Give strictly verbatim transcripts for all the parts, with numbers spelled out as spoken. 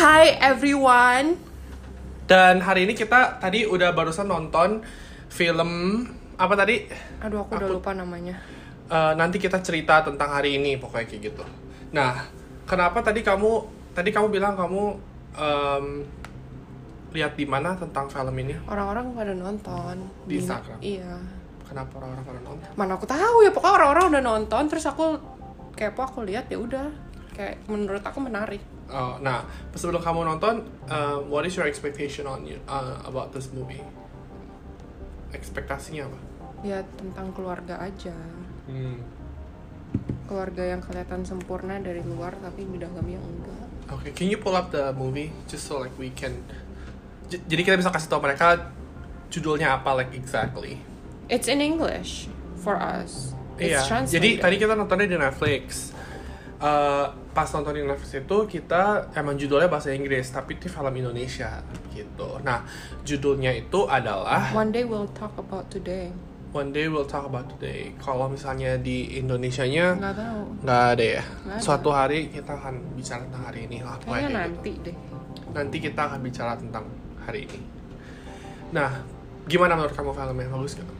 Hi everyone. Dan hari ini kita tadi udah barusan nonton film apa tadi? Aduh aku, aku udah lupa namanya. Uh, nanti kita cerita tentang hari ini pokoknya kayak gitu. Nah, kenapa tadi kamu tadi kamu bilang kamu um, lihat di mana tentang film ini? Orang-orang pada nonton di Instagram. Iya. Kenapa orang-orang pada nonton? Mana aku tahu ya, pokoknya orang-orang udah nonton terus aku kepo, aku lihat ya udah. Kayak menurut aku menarik. Oh, nah, sebelum kamu nonton, uh, what is your expectation on you, uh, about this movie? Ekspektasinya apa? Ya tentang keluarga aja. Hmm. Keluarga yang kelihatan sempurna dari luar tapi di dalamnya enggak. Okay, can you pull up the movie just so like we can? J- jadi kita bisa kasih tahu mereka judulnya apa like exactly. It's in English for us. It's iya. translated. Jadi tadi kita nontonnya di Netflix. Uh, pas nonton di Netflix itu kita emang judulnya bahasa Inggris tapi itu film Indonesia gitu. Nah, judulnya itu adalah One Day We'll Talk About Today. One Day We'll Talk About Today. Kalau misalnya di Indonesianya nggak tahu. Nggak ada ya. Nggak ada. Suatu hari kita akan bicara tentang hari ini lah. Kayaknya nanti gitu. deh. Nanti kita akan bicara tentang hari ini. Nah, gimana menurut kamu filmnya? Bagus gak?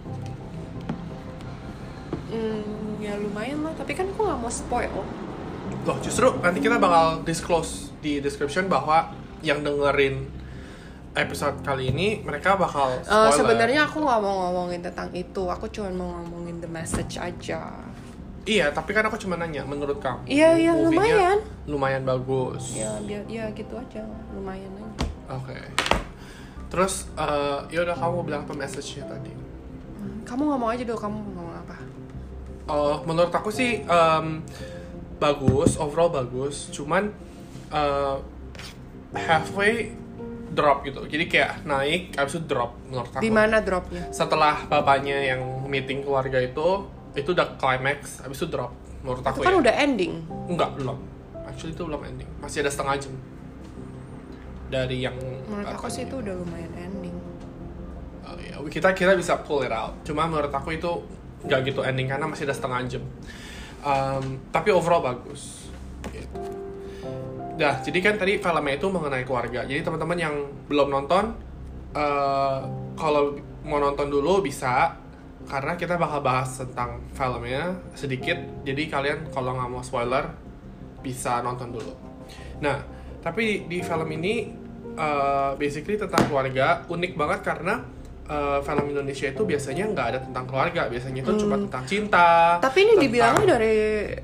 Hmm, ya lumayan lah. Tapi kan aku nggak mau spoil. Loh, justru nanti kita bakal disclose di description bahwa yang dengerin episode kali ini mereka bakal spoiler. Uh, sebenarnya aku nggak mau ngomongin tentang itu. Aku cuma mau ngomongin the message aja. Iya, tapi kan aku cuma nanya menurut kamu. Iya, iya lumayan. Lumayan bagus. Ya, biar ya gitu aja. Lumayan aja. Oke. Okay. Terus uh, ya udah kamu bilang apa message-nya tadi? Hmm, kamu ngomong aja dulu, kamu ngomong apa? Oh, menurut aku sih um, bagus, overall bagus, cuman uh, halfway drop gitu. Jadi kayak naik, abis itu drop menurut aku. Di mana dropnya? Setelah bapaknya yang meeting keluarga itu, itu udah climax, abis itu drop menurut aku. Itu kan ya. udah ending. Enggak, belum. Actually itu belum ending. Masih ada setengah jam. Dari yang menurut aku sih itu udah lumayan ending. Oh, ya. Kita kita bisa pull it out. Cuma menurut aku itu nggak gitu ending karena masih ada setengah jam. Um, tapi overall bagus. Gitu. Dah, jadi kan tadi filmnya itu mengenai keluarga. Jadi teman-teman yang belum nonton, uh, kalau mau nonton dulu bisa, karena kita bakal bahas tentang filmnya sedikit. Jadi kalian kalau nggak mau spoiler bisa nonton dulu. Nah, tapi di film ini uh, basically tentang keluarga, unik banget karena Uh, film Indonesia itu biasanya nggak ada tentang keluarga, biasanya itu hmm. cuma tentang cinta. Tapi ini tentang... dibilangnya dari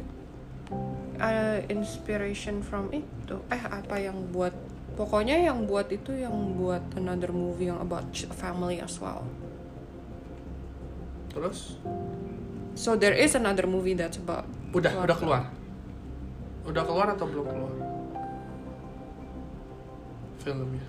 uh, inspiration from itu, eh apa yang buat, pokoknya yang buat itu yang buat another movie yang about family as well. Terus? So there is another movie that's about. Udah, keluarga. udah keluar. Udah keluar atau belum keluar? Filmnya.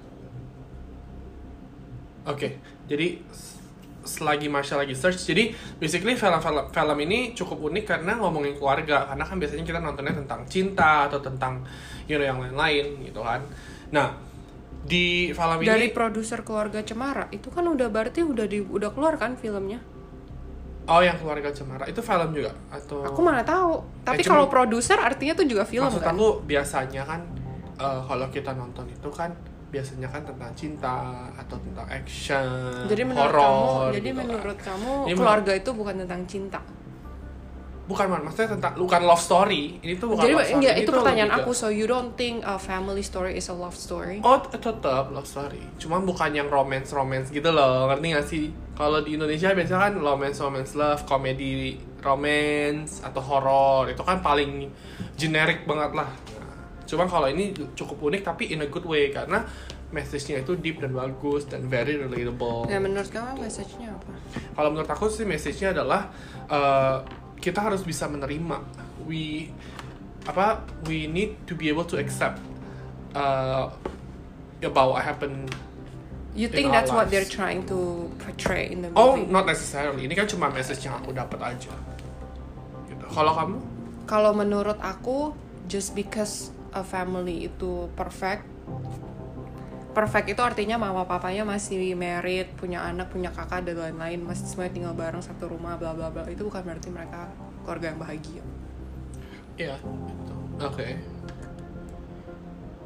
Oke, okay, jadi selagi Marsha lagi search, jadi basically film-film film ini cukup unik karena ngomongin keluarga, karena kan biasanya kita nontonnya tentang cinta atau tentang you know, yang lain-lain gitu kan. Nah, di film ini dari produser Keluarga Cemara itu kan udah berarti udah di, udah keluar kan filmnya? Oh, yang Keluarga Cemara itu film juga atau? Aku mana tahu. Tapi eh, kalau produser artinya tuh juga film maksud kan? Maksud aku biasanya kan uh, kalau kita nonton itu kan biasanya kan tentang cinta atau tentang action, jadi menurut horror. Kamu, jadi gitu menurut kan. kamu ini keluarga men- itu bukan tentang cinta? Bukan, man, maksudnya tentang bukan love story. Ini tuh bukan jadi, love story. Jadi itu, itu pertanyaan aku. Ke... So you don't think a family story is a love story? Oh, tetap love story. Cuma bukan yang romance romance gitu loh. Ngerti gak sih? Kalau di Indonesia biasanya kan romance romance love, komedi romance atau horror. Itu kan paling generic banget lah. Nah, cuma kalau ini cukup unik tapi in a good way karena message-nya itu deep dan bagus dan very relatable. Ya menurut kamu message-nya apa? Kalau menurut aku sih message-nya adalah uh, kita harus bisa menerima. We apa? We need to be able to accept uh, about what happened. You think that's what they're trying to portray in the movie? Oh, not necessarily. Ini kan cuma message yang aku dapat aja. Gitu. Kalau kamu? Kalau menurut aku, just because a family itu perfect. Perfect itu artinya mama papanya masih married, punya anak, punya kakak dan lain-lain, masih semuanya tinggal bareng satu rumah, bla bla bla. Itu bukan berarti mereka keluarga yang bahagia. Iya, gitu. Oke. Okay.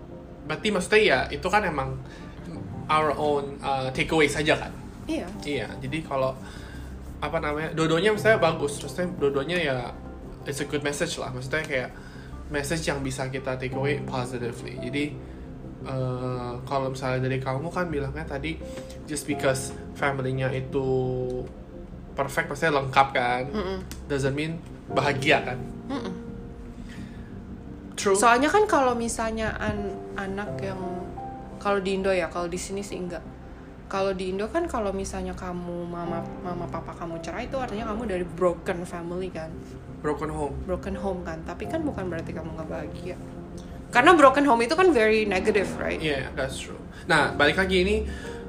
berarti maksudnya ya itu kan emang our own uh, takeaway saja kan. Iya. Iya, jadi kalau apa namanya, dua-duanya misalnya bagus, maksudnya dua-duanya ya it's a good message lah, maksudnya kayak message yang bisa kita take away positively. Jadi uh, kalau misalnya dari kamu kan bilangnya tadi just because family-nya itu perfect, maksudnya lengkap kan, Mm-mm. doesn't mean bahagia kan. Mm-mm. True. Soalnya kan kalau misalnya an- anak yang kalau di Indo ya, kalau di sini sih enggak. Kalau di Indo kan kalau misalnya kamu mama mama papa kamu cerai itu artinya kamu dari broken family kan, Broken home. broken home kan. Tapi kan bukan berarti kamu nggak bahagia. Karena broken home itu kan very negative, right? Iya, yeah, that's true. Nah, balik lagi ini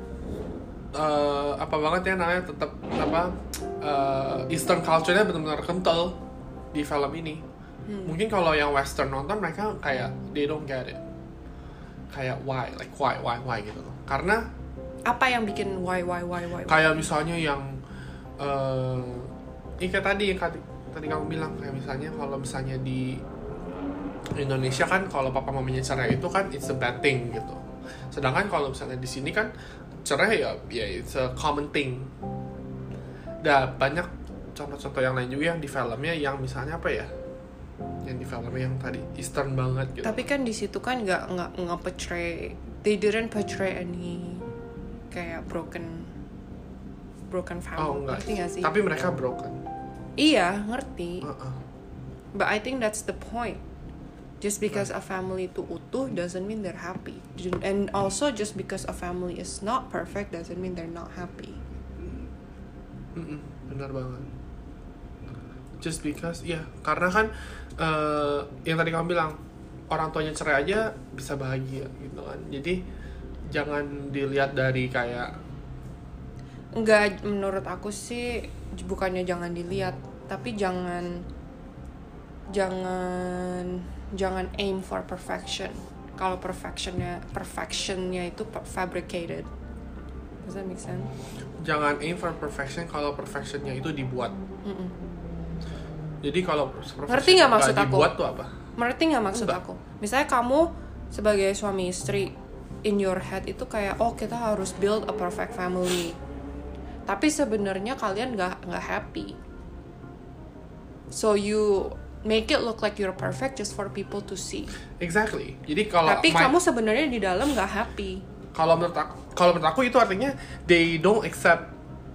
uh, apa banget ya namanya, tetap apa uh, Eastern culture-nya benar-benar kental di film ini. Hmm. Mungkin kalau yang Western nonton mereka kayak they don't get it. Kayak why, like why, why, why gitu loh. Karena Apa yang bikin why, why, why, why? why? kayak misalnya yang uh, ini kayak tadi yang tadi, tadi kamu bilang kayak misalnya kalau misalnya di Indonesia kan kalau papa mamanya cerai itu kan it's a bad thing gitu. Sedangkan kalau misalnya di sini kan cerai ya ya it's a common thing. Dan banyak contoh-contoh yang lain juga yang di filmnya yang misalnya apa ya? Yang di filmnya yang tadi Eastern banget gitu. Tapi kan di situ kan nggak nggak nggak portray, they didn't portray any kayak broken broken family. Oh enggak. Ngerti nggak sih? Tapi mereka broken. Iya, ngerti. Uh-uh. But I think that's the point. Just because a family itu utuh doesn't mean they're happy. And also just because a family is not perfect doesn't mean they're not happy. Mm-mm, benar banget. Just because, ya, karena kan uh, yang tadi kamu bilang orang tuanya cerai aja bisa bahagia gitu kan. Jadi jangan dilihat dari kayak Enggak, menurut aku sih bukannya jangan dilihat, tapi jangan jangan jangan aim for perfection. Kalau perfectionnya perfectionnya itu fabricated. Does that make sense? jangan aim for perfection kalau perfectionnya itu dibuat. Mm-mm. Jadi kalau Ngerti nggak maksud aku? dibuat tuh apa? Ngerti nggak maksud Enggak. aku? Misalnya kamu sebagai suami istri, in your head itu kayak oh kita harus build a perfect family, tapi sebenarnya kalian nggak nggak happy, so you make it look like you're perfect just for people to see. Exactly. Jadi kalau Tapi my- kamu sebenarnya di dalam nggak happy. kalau menurut aku, kalau menurut aku itu artinya they don't accept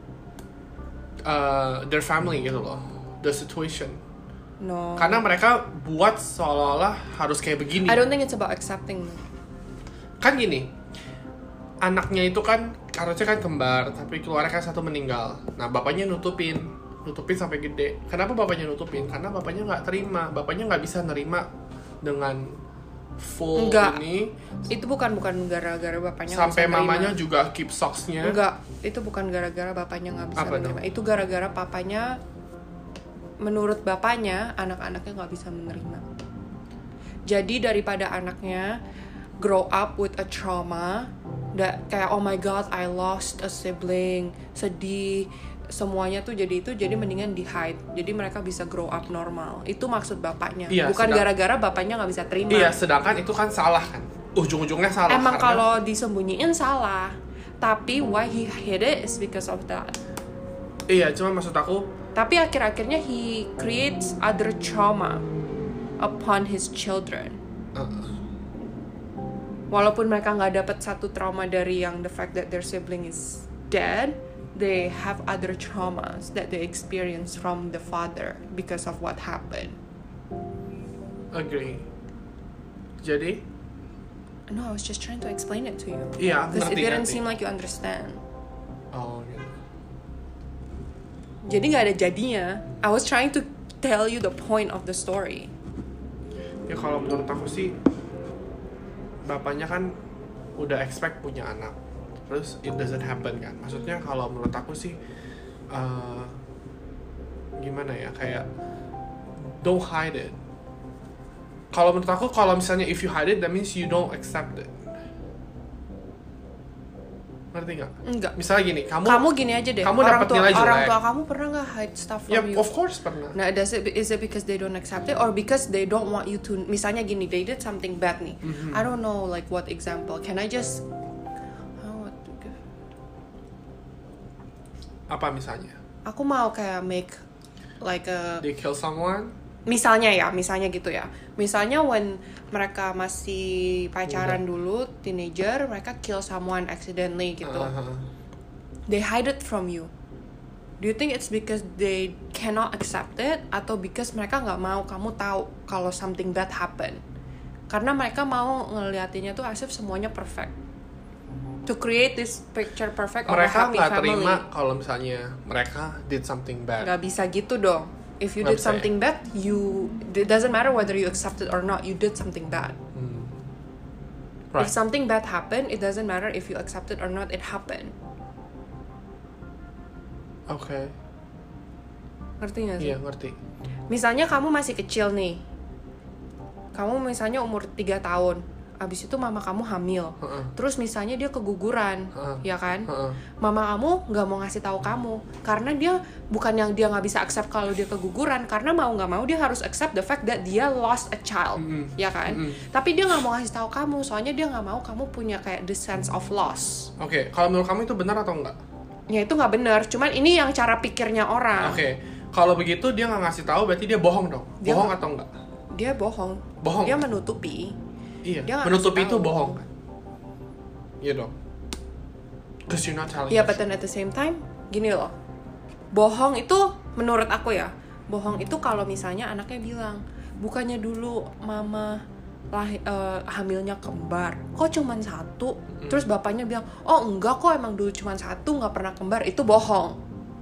uh, their family gitu loh, the situation. No. Karena mereka buat seolah-olah harus kayak begini. I don't think it's about accepting. Kan gini, anaknya itu kan harusnya kan kembar, tapi keluarnya kan satu meninggal. Nah bapaknya nutupin, nutupin sampai gede. Kenapa bapaknya nutupin? Karena bapaknya nggak terima, bapaknya nggak bisa nerima dengan full Enggak. ini. Itu bukan bukan gara-gara bapaknya nggak Sampai bisa nerima. mamanya juga keep socks-nya. Enggak, itu bukan gara-gara bapaknya nggak bisa Apa menerima. dong? Itu gara-gara papanya, menurut bapaknya, anak-anaknya nggak bisa menerima. Jadi daripada anaknya grow up with a trauma, that kayak oh my god I lost a sibling, sedih, semuanya tuh jadi itu, jadi mendingan di hide. Jadi mereka bisa grow up normal. Itu maksud bapaknya. Iya, bukan sedang- gara-gara bapaknya nggak bisa terima. Iya, sedangkan itu kan salah kan. Ujung-ujungnya salah. Emang karena- kalau disembunyiin salah, tapi why he hid it is because of that. Iya, cuma maksud aku Tapi akhir-akhirnya he creates other trauma upon his children. uh, Walaupun mereka nggak dapat satu trauma dari yang the fact that their sibling is dead, they have other traumas that they experience from the father because of what happened. agree. Jadi, No, I was just trying to explain it to you. iya, Because it ngerti, didn't ngerti. seem like you understand. Oh, gitu. Jadi nggak ada jadinya. I was trying to tell you the point of the story. Ya kalau menurut aku sih bapaknya kan udah expect punya anak, terus it doesn't happen kan. Maksudnya kalau menurut aku sih uh, gimana ya, kayak don't hide it. Kalau menurut aku kalau misalnya if you hide it that means you don't accept it. Ngerti nggak? Enggak. Misalnya gini, kamu kamu gini aja deh. kamu orang dapat tua nilai jelek. orang tua kamu pernah nggak hide stuff from Ya, you? of course pernah. Nah, does it, is it because they don't accept it or because they don't want you to? Misalnya gini, they did something bad nih. Mhm. I don't know like what example. Can I just oh, what to give? Apa misalnya? Aku mau kayak make like a They kill someone? misalnya ya, misalnya gitu ya. Misalnya when mereka masih pacaran dulu, teenager, mereka kill someone accidentally gitu. Uh-huh. They hide it from you. Do you think it's because they cannot accept it atau because mereka nggak mau kamu tahu kalau something bad happen? Karena mereka mau ngeliatinnya tuh as if semuanya perfect. To create this picture perfect of a Mereka happy nggak family. terima kalau misalnya mereka did something bad. Nggak bisa gitu dong. If you Nggak did bisa something bad, you it doesn't matter whether you accept it or not. You did something bad. Hmm. Right. If something bad happened, it doesn't matter if you accept it or not. It happened. Oke. Okay. Ngerti nggak sih? Iya, ngerti. Misalnya kamu masih kecil nih. Kamu misalnya umur tiga tahun. Abis itu mama kamu hamil. Uh-uh. Terus misalnya dia keguguran, Uh-uh. ya kan? Uh-uh. Mama kamu nggak mau ngasih tahu kamu karena dia bukan yang dia nggak bisa accept kalau dia keguguran, karena mau nggak mau dia harus accept the fact that dia lost a child, Mm-mm. ya kan? Mm-mm. Tapi dia nggak mau ngasih tahu kamu, soalnya dia nggak mau kamu punya kayak the sense of loss. Oke, okay. Kalau menurut kamu itu benar atau enggak? Ya itu nggak benar, cuman ini yang cara pikirnya orang. Oke, okay. Kalau begitu dia nggak ngasih tahu, berarti dia bohong dong. Dia bohong nggak- atau enggak? Dia bohong. Bohong. Dia menutupi. Iya. Dia nggak Menutupi ngasih itu tahu. bohong kan? Iya dong. Cause you're not telling. Iya, the but then at the same time, gini loh. Bohong itu menurut aku ya, bohong itu kalau misalnya anaknya bilang, bukannya dulu mama lah eh, hamilnya kembar, kok cuman satu? Terus bapaknya bilang, oh enggak kok, emang dulu cuman satu, nggak pernah kembar. Itu bohong.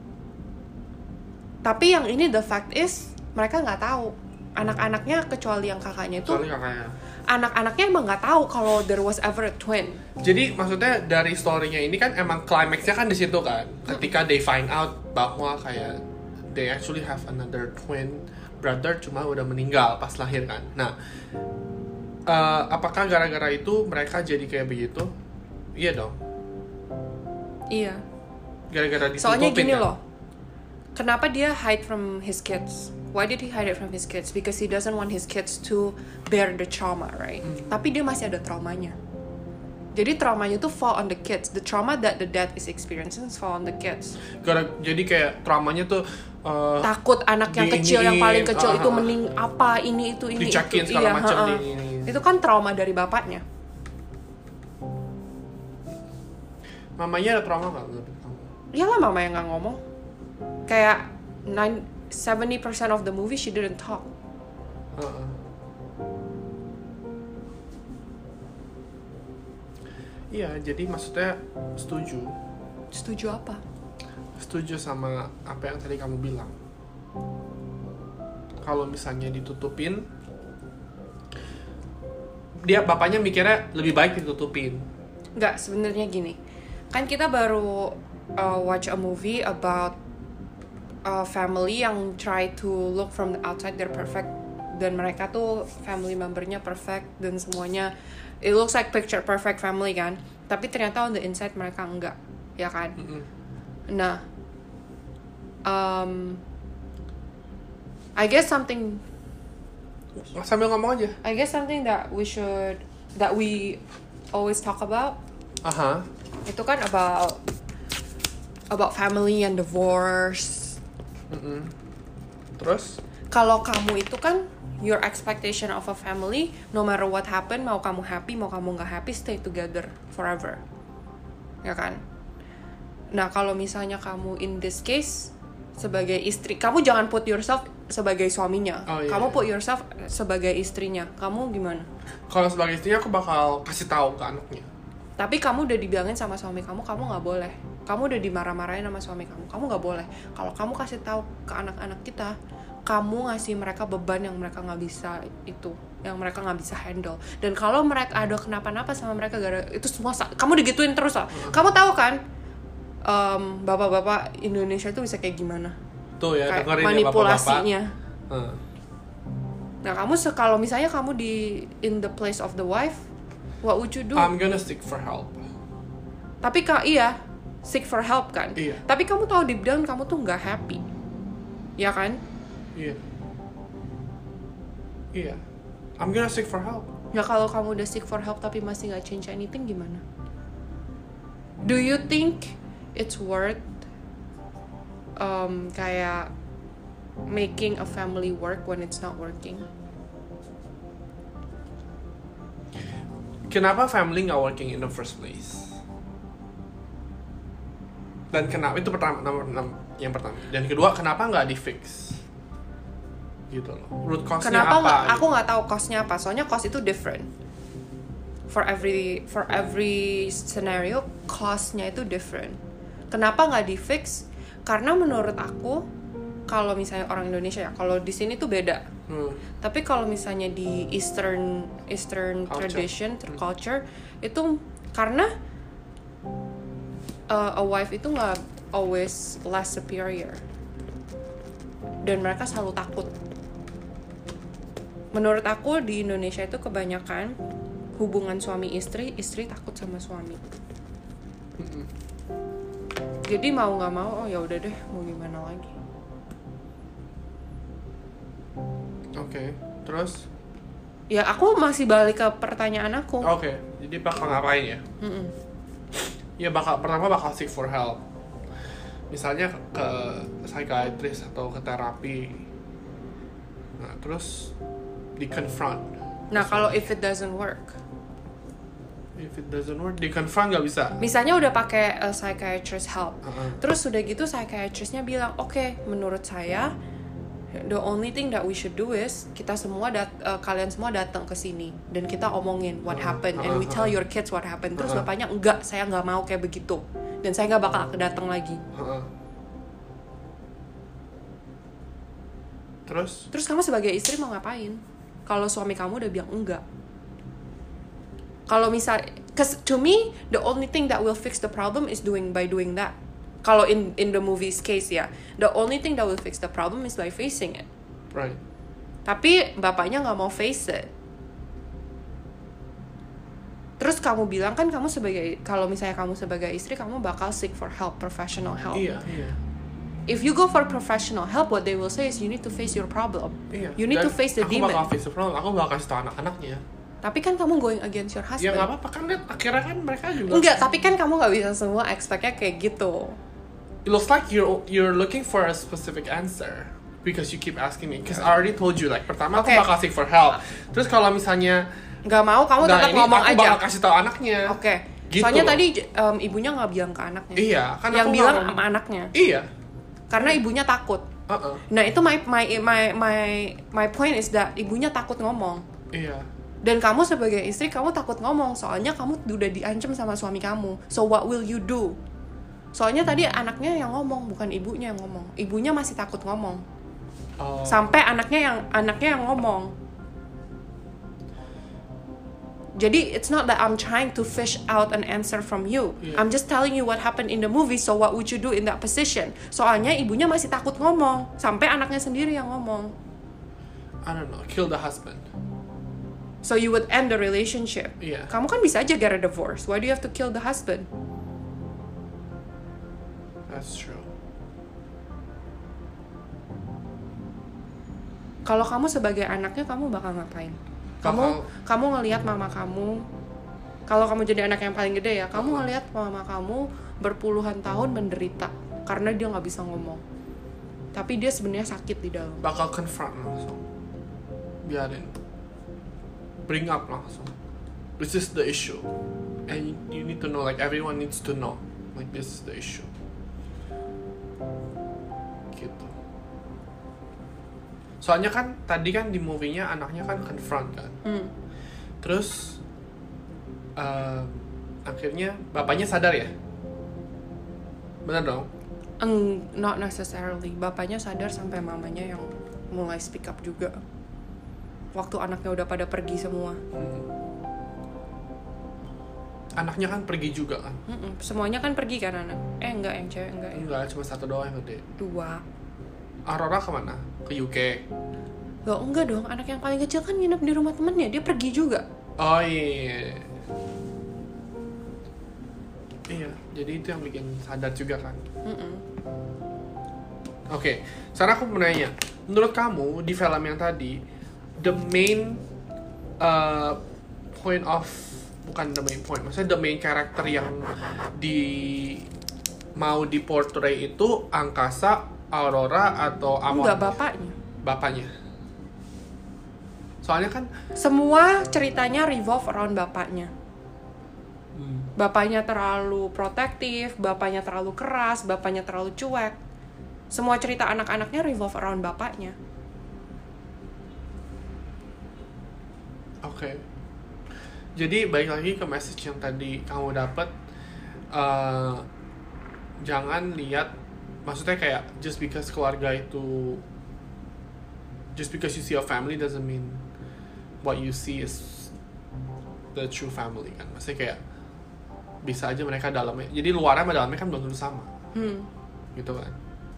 Tapi yang ini the fact is mereka nggak tahu. Anak-anaknya kecuali yang kakaknya itu, Soalnya kakaknya. anak-anaknya emang nggak tahu kalau there was ever a twin. Jadi maksudnya dari story-nya ini kan emang climax-nya kan di situ kan. Ketika they find out bahwa kayak they actually have another twin brother, cuma udah meninggal pas lahir kan. Nah, eh, apakah gara-gara itu mereka jadi kayak begitu? Iya dong. Iya. Gara-gara ditutupin. Soalnya gini kan? loh, kenapa dia hide from his kids? Why did he hide it from his kids? Because he doesn't want his kids to bear the trauma, right? Hmm. Tapi dia masih ada traumanya. Jadi traumanya tuh fall on the kids. The trauma that the dad is experiencing fall on the kids. Gara- jadi kayak traumanya tuh eh, Takut anak yang Di- kecil, yang paling iniin, kecil ah, itu ah. mening apa ini itu ini dicakin itu. segala Iya, macam ha-ha. di ini. Itu kan trauma dari bapaknya. Mamanya ada trauma nggak? menurut kamu? Iyalah mama yang nggak ngomong. Kayak nine seventy percent of the movie she didn't talk. Heeh. Iya, jadi maksudnya setuju. Setuju apa? Setuju sama apa yang tadi kamu bilang. Kalau misalnya ditutupin, dia bapaknya mikirnya lebih baik ditutupin. Nggak, sebenarnya gini. Kan kita baru uh, watch a movie about a family yang try to look from the outside they're perfect, dan mereka tuh family membernya perfect dan semuanya it looks like picture perfect family kan, tapi ternyata on the inside mereka enggak, ya kan? Mm-mm. Nah, um, I guess something Sambil ngomong aja. I guess something that we should that we always talk about Aha. itu kan about about family and divorce. Mm-mm. Terus? Kalau kamu itu kan your expectation of a family, no matter what happen, mau kamu happy, mau kamu nggak happy, stay together forever, ya kan? Nah, kalau misalnya kamu in this case sebagai istri, kamu jangan put yourself sebagai suaminya, Oh, iya, kamu iya. put yourself sebagai istrinya. Kamu gimana? Kalau sebagai istrinya aku bakal kasih tahu ke anaknya. Tapi kamu udah dibilangin sama suami kamu, kamu nggak boleh. Kamu udah dimarah-marahin sama suami kamu, kamu nggak boleh. Kalau kamu kasih tahu ke anak-anak kita, kamu ngasih mereka beban yang mereka nggak bisa itu, yang mereka nggak bisa handle. Dan kalau mereka ada kenapa-napa sama mereka gara itu semua, kamu digituin terus lah. Kamu tahu kan, um, bapak-bapak Indonesia tuh bisa kayak gimana? Tuh ya, Kayak dengerin ya manipulasinya. bapak-bapak. Hmm. Nah, kamu se- kalau misalnya kamu di in the place of the wife, what would you do? I'm gonna seek for help. Tapi kak iya seek for help kan. Iya. Tapi kamu tahu deep down kamu tuh nggak happy, ya kan? Iya. Iya. I'm gonna seek for help. Ya kalau kamu udah seek for help tapi masih nggak change anything gimana? Do you think it's worth um, kayak making a family work when it's not working? Kenapa family nggak working in the first place? Dan kenapa itu pertama, nomor enam yang pertama. Dan kedua, kenapa nggak di fix? Gitu loh. Root cause-nya Kenapa apa? nggak? Gitu. Aku nggak tahu cost-nya apa. Soalnya cost itu different. For every for every scenario, cost-nya itu different. Kenapa nggak di fix? Karena menurut aku, kalau misalnya orang Indonesia ya, kalau di sini tuh beda. Hmm. Tapi kalau misalnya di Eastern Eastern Culture. tradition, Hmm. culture itu karena uh, a wife itu nggak always less superior dan mereka selalu takut. Menurut aku di Indonesia itu kebanyakan hubungan suami istri, istri takut sama suami. Mm-mm. Jadi mau nggak mau, oh ya udah deh, mau gimana lagi? Oke, okay. Terus? Ya aku masih balik ke pertanyaan aku. Oke, okay. Jadi bakal ngapain ya? Mm-mm. Ya bakal pertama bakal seek for help. Misalnya ke psychiatrist atau ke terapi. Nah, terus di confront. Nah kalau if it doesn't work, If it doesn't work, di confront nggak bisa. misalnya udah pakai uh, psychiatrist help, Uh-uh. terus udah gitu psychiatristnya bilang, oke, okay, menurut saya the only thing that we should do is kita semua dat- uh, kalian semua datang ke sini dan kita omongin what Uh-uh. happened and we Uh-uh. tell your kids what happened. Terus Uh-uh. bapaknya enggak, saya nggak mau kayak begitu dan saya nggak bakal datang lagi. Uh-uh. Terus? Terus kamu sebagai istri mau ngapain? Kalau suami kamu udah bilang enggak. Kalau misal, cause to me the only thing that will fix the problem is doing by doing that. Kalau in in the movie's case ya, the only thing that will fix the problem is by facing it. Right. Tapi bapaknya nggak mau face it. Terus kamu bilang kan kamu sebagai, kalau misalnya kamu sebagai istri kamu bakal seek for help, professional help. Iya, iya. If you go for professional help, what they will say is you need to face your problem. Iya. You need Dan to face the aku demon. bakal face the problem. Aku bakal kasih tau anak-anaknya. Tapi kan kamu going against your Ya husband. nggak apa-apa kan, lihat akhirnya kan mereka juga. Enggak, tapi kan kamu nggak bisa semua expect-nya kayak gitu. It looks like you're you're looking for a specific answer because you keep asking me. Because I already told you, like pertama Okay. aku bakal seek for help. Terus kalau misalnya Nggak mau, kamu nah tetap ini ngomong aku aja. bakal kasih tau anaknya. Oke. Gitu Soalnya loh. tadi um, ibunya nggak bilang ke anaknya. Iya, kan Yang aku bilang nggak mau- sama anaknya. Iya. Karena ibunya takut. Uh-uh. Nah itu my my my my my point is that ibunya takut ngomong. Iya. Dan kamu sebagai istri kamu takut ngomong soalnya kamu udah diancam sama suami kamu. So what will you do? Soalnya tadi anaknya yang ngomong bukan ibunya yang ngomong. Ibunya masih takut ngomong. Oh. Sampai anaknya yang anaknya yang ngomong. Jadi it's not that I'm trying to fish out an answer from you. Yeah. I'm just telling you what happened in the movie. So what would you do in that position? Soalnya ibunya masih takut ngomong. Sampai anaknya sendiri yang ngomong. I don't know, kill the husband. So you would end the relationship. Iya. Kamu kan bisa aja get a divorce. Why do you have to kill the husband? That's true. Kalau kamu sebagai anaknya, kamu bakal ngapain? Kamu Bakal- kamu ngelihat mama kamu. Kalau kamu jadi anak yang paling gede ya, kamu ngelihat mama kamu berpuluhan tahun menderita karena dia nggak bisa ngomong. Tapi dia sebenarnya sakit di dalam. Bakal confront langsung. Biarin. Bring up langsung. This is the issue. And you, you need to know, like everyone needs to know. Like this is the issue. Gitu. Soalnya kan tadi kan di movie-nya anaknya kan confront kan. Hmm. Terus um, akhirnya bapaknya sadar ya? Benar dong? Eng, not necessarily. Bapaknya sadar sampai mamanya yang mulai speak up juga. Waktu anaknya udah pada pergi semua. Hmm. Anaknya kan pergi juga kan? Mm-mm. Semuanya kan pergi kan anak. Eh enggak, yang cewek enggak ya. Enggak, cuma satu doang yang gede. Dua. Aurora kemana? Ke U K. Loh enggak dong, anak yang paling kecil kan nginep di rumah temennya. Dia pergi juga. Oh iya. Iya, jadi itu yang bikin sadar juga kan. Mm-mm. Oke, okay. Sekarang aku mau nanya, menurut kamu di film yang tadi, the main uh, point of, bukan the main point, maksudnya the main character yang di mau diportray itu Angkasa, Aurora, atau Amon? Enggak, bapaknya. Bapaknya. Soalnya kan semua ceritanya revolve around bapaknya. hmm. Bapaknya terlalu protektif, bapaknya terlalu keras, bapaknya terlalu cuek. Semua cerita anak-anaknya revolve around bapaknya. Oke. Okay. Jadi balik lagi ke message yang tadi kamu dapat, uh, jangan lihat, maksudnya kayak just because keluarga itu, just because you see a family doesn't mean what you see is the true family kan. Maksudnya kayak bisa aja mereka dalamnya, jadi luarnya sama dalamnya kan belum tentu sama, hmm. gitu kan.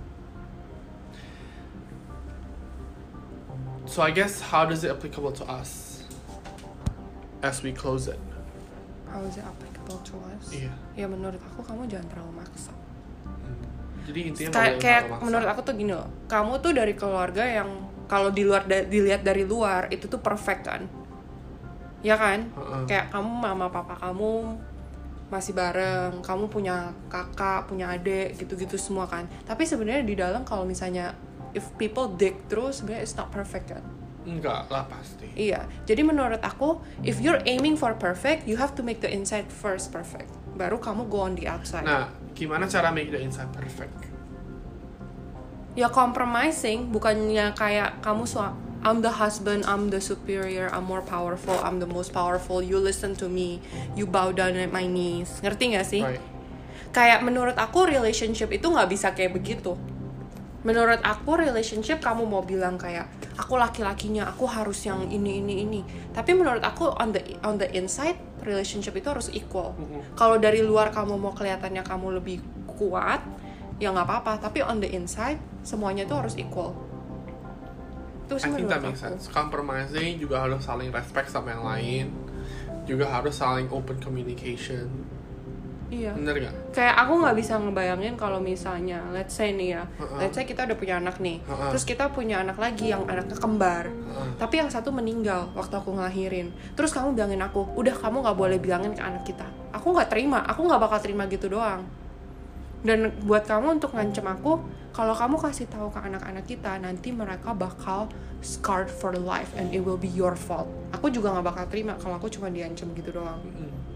So I guess how does it applicable to us as we close it? How is it applicable to us? Iya. Ya menurut aku kamu jangan terlalu maksa. Hmm. Jadi intinya Kay- kayak maksa. menurut aku tuh gini loh, kamu tuh dari keluarga yang kalau di luar da- dilihat dari luar itu tuh perfect kan, ya kan? Uh-uh. Kayak kamu mama papa kamu masih bareng, kamu punya kakak, punya adik, gitu-gitu semua kan. Tapi sebenarnya di dalam kalau misalnya if people dig terus, sebenarnya it's not perfect kan? Enggak lah pasti. Iya. Jadi menurut aku, if you're aiming for perfect, you have to make the inside first perfect. Baru kamu go on the outside. Nah, gimana cara make the inside perfect? Ya compromising, bukannya kayak kamu su- I'm the husband, I'm the superior, I'm more powerful, I'm the most powerful, you listen to me, you bow down at my knees. Ngerti gak sih? Right. Kayak menurut aku relationship itu gak bisa kayak begitu. Menurut aku relationship kamu mau bilang kayak aku laki-lakinya, aku harus yang ini ini ini. Tapi menurut aku on the on the inside relationship itu harus equal. Mm-hmm. Kalau dari luar kamu mau kelihatannya kamu lebih kuat, ya nggak apa-apa. Tapi on the inside semuanya itu harus equal. Itu sih I think menurut that makes aku. sense. Compromising juga harus saling respect sama yang lain. Juga harus saling open communication. Iya. Bener gak? Kayak aku nggak bisa ngebayangin kalau misalnya, let's say nih ya, Uh-uh. let's say kita udah punya anak nih, Uh-uh. terus kita punya anak lagi yang anaknya kembar, Uh-uh. tapi yang satu meninggal waktu aku ngelahirin, terus kamu bilangin aku, udah kamu nggak boleh bilangin ke anak kita, aku nggak terima, aku nggak bakal terima gitu doang. Dan buat kamu untuk ngancem aku, kalau kamu kasih tahu ke anak-anak kita, nanti mereka bakal scarred for life and it will be your fault. Aku juga nggak bakal terima kalau aku cuma diancam gitu doang. Mm-hmm.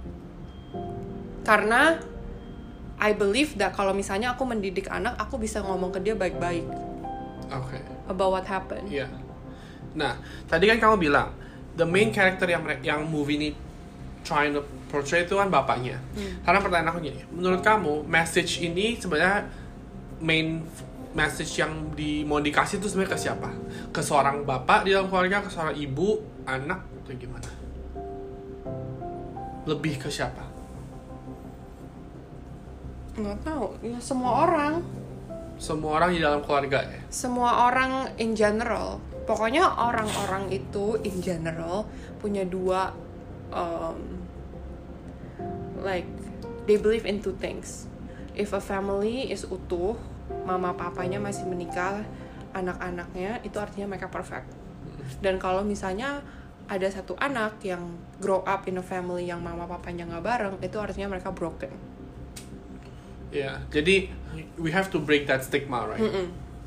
Karena I believe that kalau misalnya aku mendidik anak, aku bisa ngomong ke dia baik-baik. Oke. Okay. About what happened. Iya. Nah, tadi kan kamu bilang the main character yang yang movie ini trying to portray itu kan bapaknya. Hmm. Karena pertanyaan aku gini, menurut kamu message ini sebenarnya main message yang di mau dikasih itu sebenarnya ke siapa? Ke seorang bapak di dalam keluarga, ke seorang ibu, anak, atau gimana? Lebih ke siapa? Nggak tahu, ya semua orang. Semua orang di dalam keluarga ya? Semua orang in general. Pokoknya orang-orang itu in general punya dua, um, like they believe in two things. If a family is utuh, mama papanya masih menikah, anak-anaknya itu artinya mereka perfect. Dan kalau misalnya ada satu anak yang grow up in a family yang mama papanya nggak bareng, itu artinya mereka broken. Ya, yeah, jadi we have to break that stigma, right? Mm-mm.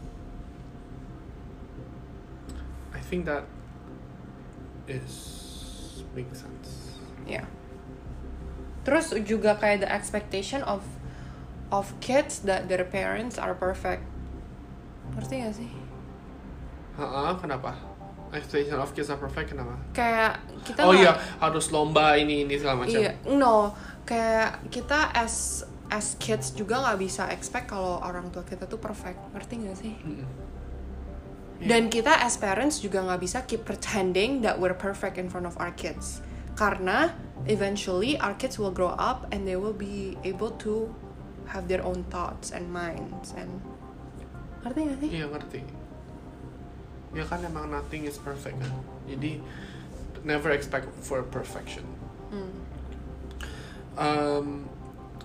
I think that is makes sense. Ya. Yeah. Terus juga kayak the expectation of of kids that their parents are perfect. Ngerti gak sih? Heeh, kenapa? Expectation of kids are perfect, kenapa? Kayak kita Oh gak, iya, harus lomba ini ini segala macam. Iya, no. Kayak kita as as kids juga nggak bisa expect kalau orang tua kita tuh perfect. Ngerti gak sih? Mm-mm. Yeah. Dan kita as parents juga nggak bisa keep pretending that we're perfect in front of our kids. Karena eventually our kids will grow up and they will be able to have their own thoughts and minds and ngerti gak sih? Iya, ngerti. Ya kan emang nothing is perfect kan. Jadi never expect for perfection. Hmm. Um,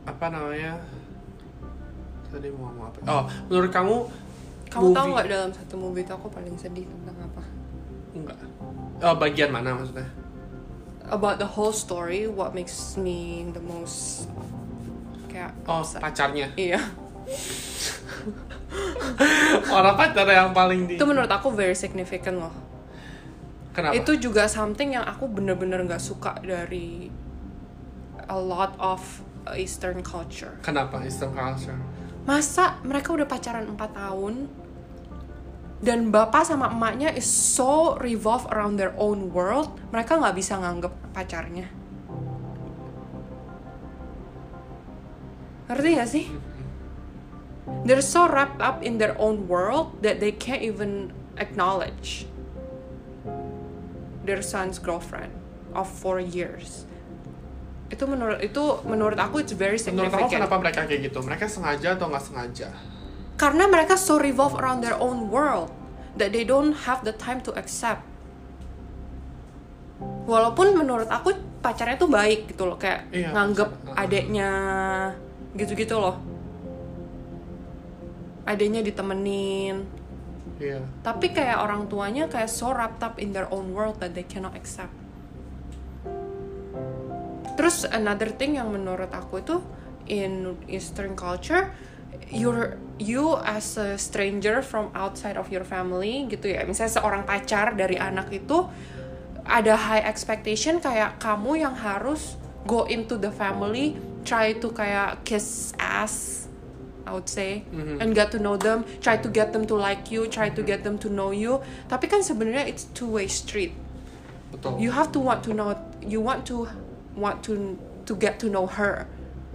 apa namanya? Tadi mau ngomong apa? Oh, menurut kamu Kamu movie... tahu nggak dalam satu movie itu aku paling sedih tentang apa? Enggak. Oh, bagian mana maksudnya? About the whole story, what makes me the most kayak Oh, upset. pacarnya. Iya. Orang pacar yang paling di. Itu menurut aku very significant loh. Kenapa? Itu juga something yang aku bener-bener nggak suka dari a lot of Eastern culture. Kenapa Eastern culture? Masa mereka udah pacaran empat tahun dan bapak sama emaknya is so revolve around their own world, mereka nggak bisa nganggep pacarnya. Ngerti gak sih? They're so wrapped up in their own world that they can't even acknowledge their son's girlfriend of four years. Itu menurut itu menurut aku it's very Menurut significant. aku kenapa mereka kayak gitu? Mereka sengaja atau nggak sengaja? Karena mereka so revolve around their own world that they don't have the time to accept. Walaupun menurut aku pacarnya tuh baik gitu loh, kayak Iya, nganggep pacar. adeknya gitu-gitu loh. Adeknya ditemenin. Iya. Tapi kayak orang tuanya kayak so wrapped up in their own world that they cannot accept. Terus another thing yang menurut aku itu in Eastern culture, you're you as a stranger from outside of your family gitu ya. Misalnya seorang pacar dari anak itu ada high expectation kayak kamu yang harus go into the family, try to kayak kiss ass, I would say, mm-hmm. and get to know them, try to get them to like you, try to get them to know you. Tapi kan sebenarnya it's two way street. Betul. You have to want to know, you want to want to to get to know her,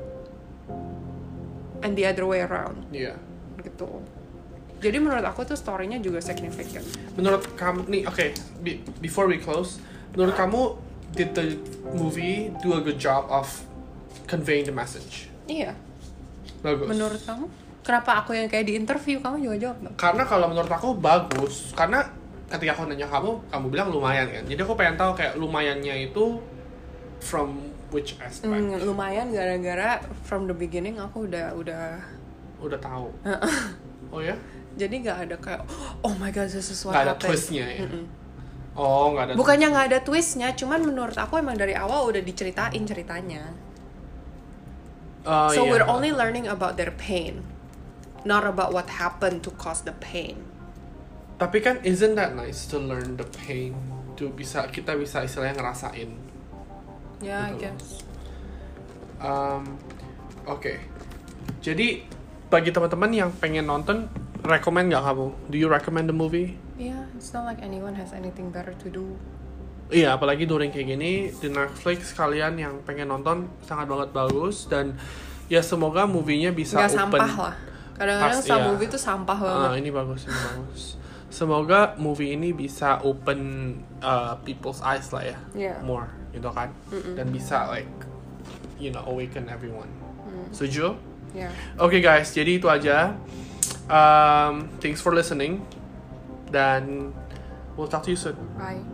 and the other way around. Iya. Gitu. Jadi menurut aku tuh story-nya juga significant. Menurut kamu nih, oke, okay, be, before we close, menurut kamu did the movie do a good job of conveying the message? Iya. Bagus. Menurut kamu? Kenapa aku yang kayak di interview kamu juga jawab dong? Karena kalau menurut aku bagus, karena ketika aku nanya kamu, kamu bilang lumayan kan. Jadi aku pengen tahu kayak lumayannya itu from which aspect? Hmm, lumayan gara-gara from the beginning aku udah udah Udah tahu. Oh ya? jadi nggak ada kayak oh my god this is what Nggak ada happened. twistnya ya? Mm-mm. Oh, nggak ada. Bukannya nggak ada twistnya, cuman menurut aku emang dari awal udah diceritain ceritanya. Oh, So iya. we're only learning about their pain, not about what happened to cause the pain. Tapi kan isn't that nice to learn the pain, to bisa kita bisa istilahnya ngerasain. Ya, I Betul. guess. Um, Oke, okay. Jadi bagi teman-teman yang pengen nonton, recommend nggak kamu? Do you recommend the movie? Yeah, it's not like anyone has anything better to do. Iya, apalagi during kayak gini di Netflix, kalian yang pengen nonton sangat banget bagus dan ya semoga movie-nya bisa Nggak open. sampah lah. Kadang-kadang Pas, some iya. movie tuh sampah banget. Ah, ini bagus, ini bagus. Semoga movie ini bisa open uh, people's eyes lah ya, Yeah. more, gitu kan, Mm-mm. dan bisa like, you know, awaken everyone. Mm. Setuju? Yeah. Oke okay, guys, jadi itu aja. Um, thanks for listening, dan we'll talk to you soon. Bye.